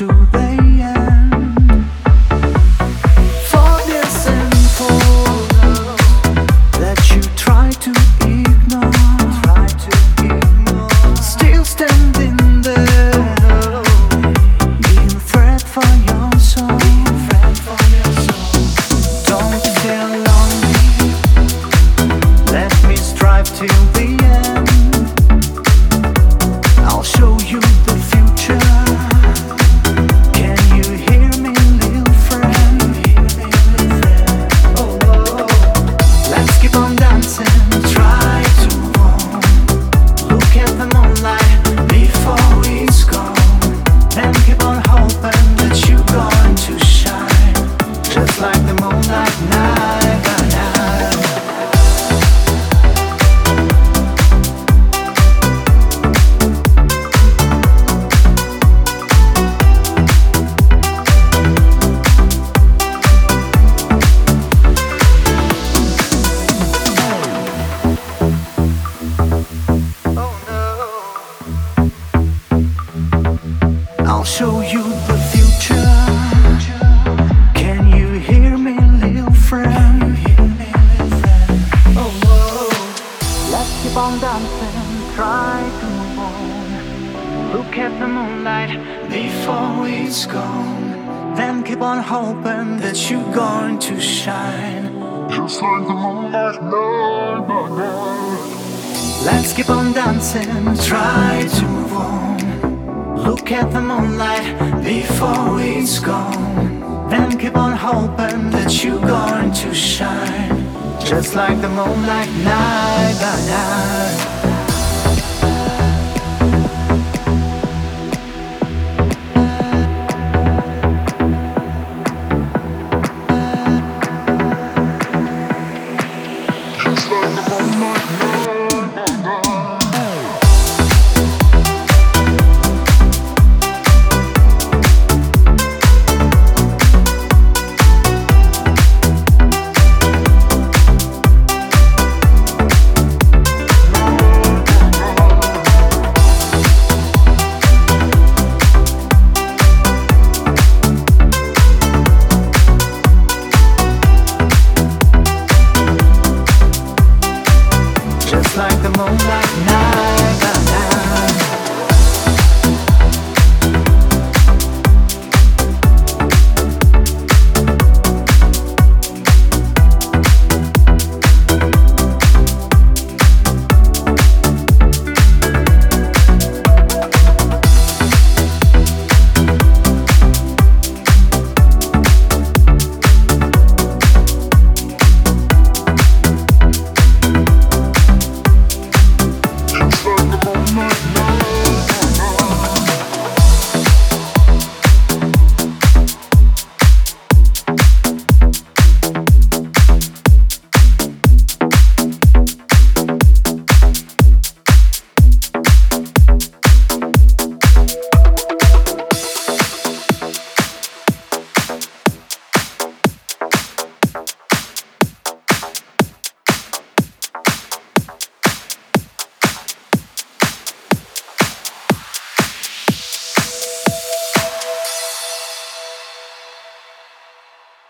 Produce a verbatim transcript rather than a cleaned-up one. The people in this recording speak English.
to the end. For this simple love that you try to ignore, try to ignore, still standing there, being a threat for your soul. Don't feel lonely, let me strive till the end. I'll show you the future. Can you hear me, little friend? Oh, oh. Let's keep on dancing, try to warm. Look at the moonlight before it's gone. Then keep on hoping that you're going to shine, just like the moonlight night by night. I'll show you the future. Can you hear me, little friend? Oh, whoa. Let's keep on dancing, try to move on. Look at the moonlight before it's gone. Then keep on hoping that you're going to shine, Just like the moonlight night by night. let's keep on dancing, try to move on. Look at the moonlight before it's gone. Then keep on hoping that you're going to shine, just like the moonlight night by night.